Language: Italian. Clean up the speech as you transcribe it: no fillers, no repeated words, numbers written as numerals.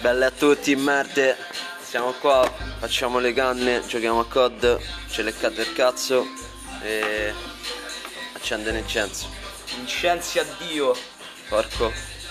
Belle a tutti, merde. Siamo qua, facciamo le canne, giochiamo a COD, ce leccate il cazzo e accende l'incenso. Incensi a Dio. Porco.